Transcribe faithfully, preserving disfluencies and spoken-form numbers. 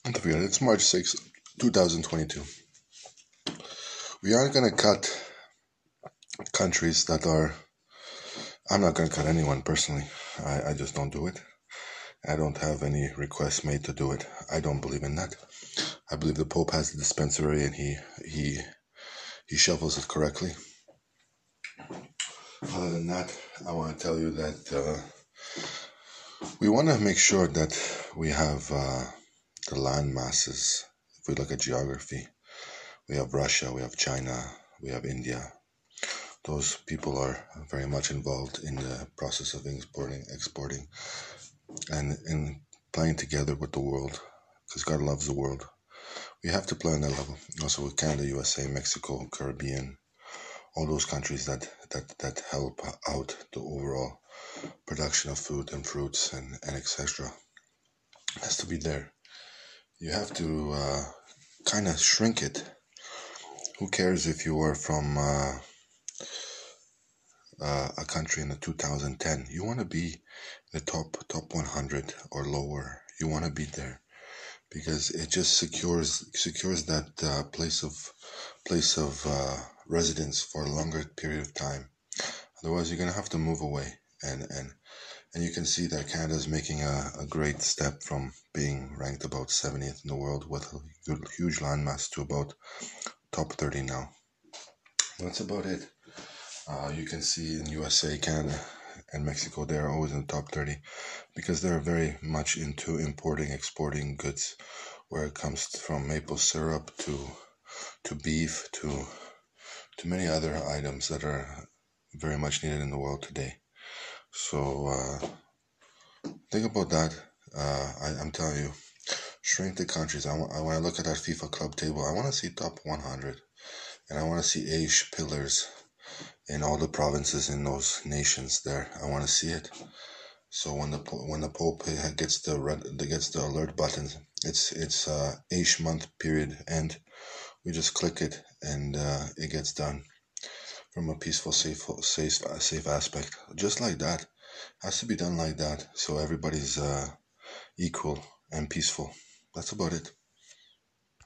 Don't forget, it's March sixth, twenty twenty-two. We aren't going to cut countries that are... I'm not going to cut anyone personally. I, I just don't do it. I don't have any requests made to do it. I don't believe in that. I believe the Pope has the dispensary and he he he shuffles it correctly. Other than that, I want to tell you that uh, we want to make sure that we have uh, the land masses. If we look at geography, we have Russia, we have China, we have India. Those people are very much involved in the process of importing, exporting, and in playing together with the world, because God loves the world. We have to play on that level. Also with Canada, U S A, Mexico, Caribbean, all those countries that, that, that help out the overall production of food and fruits and, and et cetera has to be there. You have to uh, kind of shrink it. Who cares if you are from uh, uh, a country in the two thousand ten? You want to be the top top one hundred or lower. You want to be there because it just secures secures that uh, place of place of uh, residence for a longer period of time. Otherwise, you're gonna have to move away, and and and you can see that Canada is making a, a great step from being ranked about seventieth in the world with a huge landmass to about top thirty now. That's about it. Uh, you can see in U S A, Canada, and Mexico, they're always in the top thirty because they're very much into importing, exporting goods, where it comes from maple syrup to to beef to to many other items that are very much needed in the world today. So uh, think about that. Uh, I, I'm telling you, shrink the countries. I, I when I look at that FIFA club table, I want to see top one hundred, and I want to see Aish pillars in all the provinces in those nations there. I want to see it. So when the when the Pope gets the red, gets the alert buttons, it's it's uh, Aish month period end. We just click it and uh, it gets done from a peaceful, safe, safe, safe aspect. Just like that, has to be done like that. So everybody's uh, equal and peaceful. That's about it.